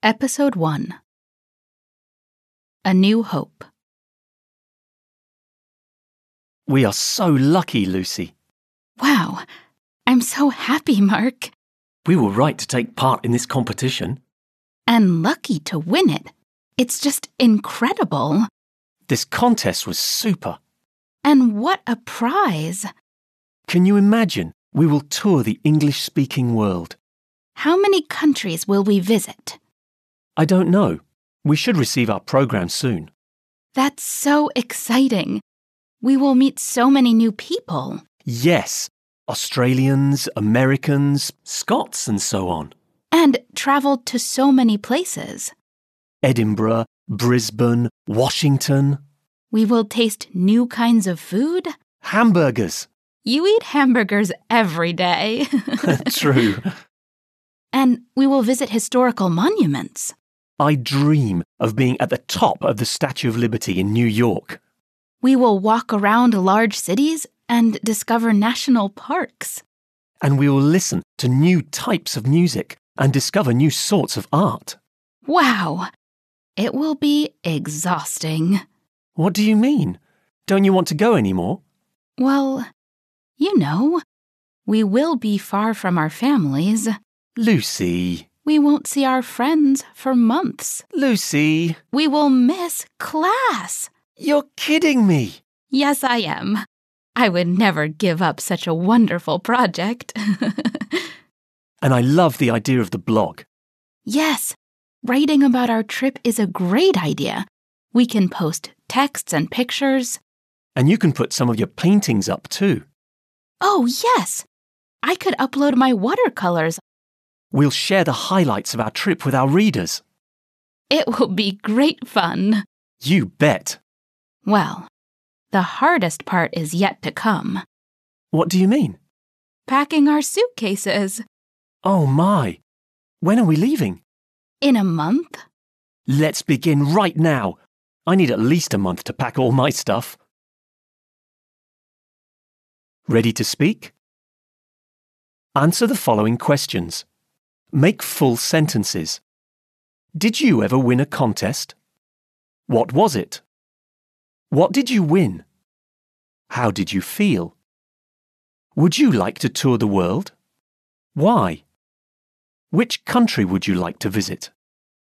Episode 1 A New Hope. We are so lucky, Lucy. Wow, I'm so happy, Mark. We were right to take part in this competition. And lucky to win it. It's just incredible. This contest was super. And what a prize. Can you imagine? We will tour the English-speaking world. How many countries will we visit? I don't know. We should receive our program soon. That's so exciting. We will meet so many new people. Yes, Australians, Americans, Scots and so on. And travel to so many places. Edinburgh, Brisbane, Washington. We will taste new kinds of food. Hamburgers. You eat hamburgers every day. True. And we will visit historical monuments. I dream of being at the top of the Statue of Liberty in New York. We will walk around large cities and discover national parks. And we will listen to new types of music and discover new sorts of art. Wow! It will be exhausting. What do you mean? Don't you want to go anymore? Well, you know, we will be far from our families. Lucy. We won't see our friends for months. Lucy. We will miss class. You're kidding me. Yes, I am. I would never give up such a wonderful project. And I love the idea of the blog. Yes, writing about our trip is a great idea. We can post texts and pictures. And you can put some of your paintings up too. Oh, yes. I could upload my watercolors. We'll share the highlights of our trip with our readers. It will be great fun. You bet. Well, the hardest part is yet to come. What do you mean? Packing our suitcases. Oh my. When are we leaving? In a month? Let's begin right now. I need at least a month to pack all my stuff. Ready to speak? Answer the following questions. Make full sentences. Did you ever win a contest? What was it? What did you win? How did you feel? Would you like to tour the world? Why? Which country would you like to visit?